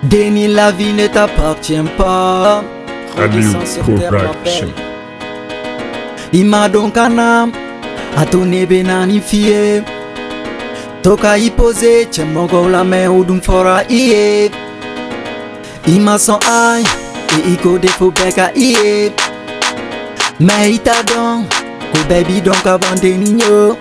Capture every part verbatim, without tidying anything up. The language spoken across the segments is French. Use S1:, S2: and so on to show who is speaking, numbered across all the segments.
S1: Déni, la vie ne t'appartient pas.
S2: Aliou
S1: Redescends sur terre, ma
S2: Production.
S1: belle. Ima donkana atone benani fie toka ipose chemogo la me udum fora iye ima son ai e iko defo beka iye me ita don ko baby donc avant de niño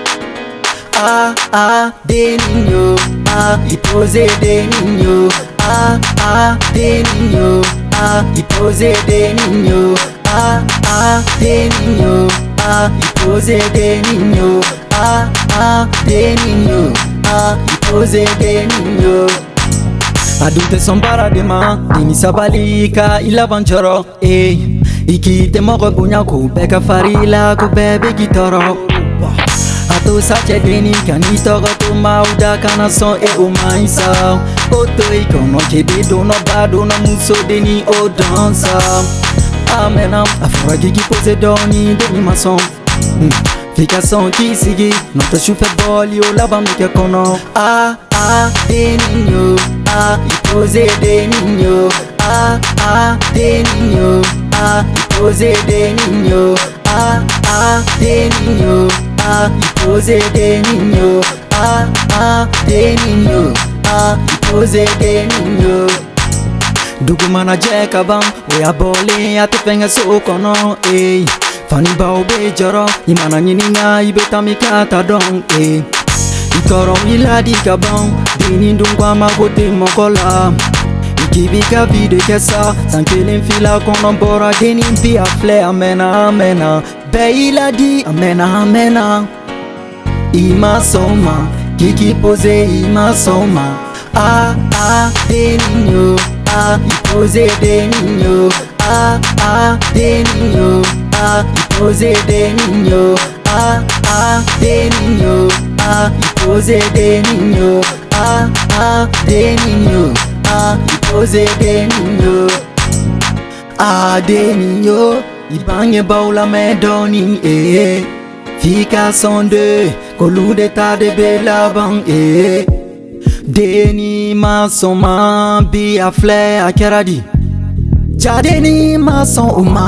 S1: ah ah de niño ah ipose de niño ah ah de niño ah ipose de niño ah ah de niño ah ipose de niño ah ah de niño ah ipose de niño adultes son paradema dini sabalika ila banchoro eh ikite moko bunya ko beka farila ko bebe gitoro ato sache deni kanito go to mauda kana son e o maisa oto ikono chebe do no bado no muso deni o dansa amenam afora gigi pose doni deni mason fica son ki sigi no to chufe boli o la bam ke kono ah ah de niño ah pose de niño ah ah de niño ah pose de niño ah ah de niño ah pose de niño ah ah de niño ah pose de niño Dugumana jeka bam we abole atufenga sokono eh fani ba obe joro imana nyininga ibeta mikata don eh ikoro iladi kabam dini ndungwa magote mokola ikibika vide kesa sankelen fila kono bora deni mpi afle amena amena be iladi amena amena ima soma kiki pose ima soma ah ah de niño ah pose de niño ah ah de niño ah pose de niño ah ah de niño ah pose de niño ah ah de niño ah pose de niño ah de niño ibanye baula me doni eh fica son de kolude ta de bela bang eh Deni mason ma bi a flè a keradi Jadeni mason uma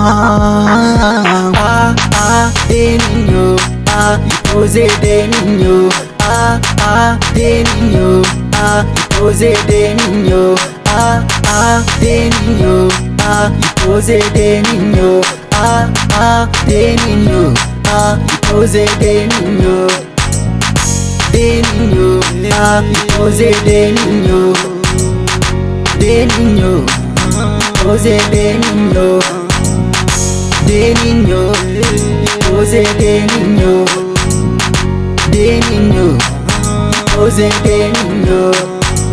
S1: Ah ah de niño ah pose de niño ah ah de niño ah pose de niño ah ah de niño ah pose de niño ah ah de niño ah pose de niño de niño, ah, pose de niño, de niño, pose de niño, de niño, pose de niño, de niño, pose de niño.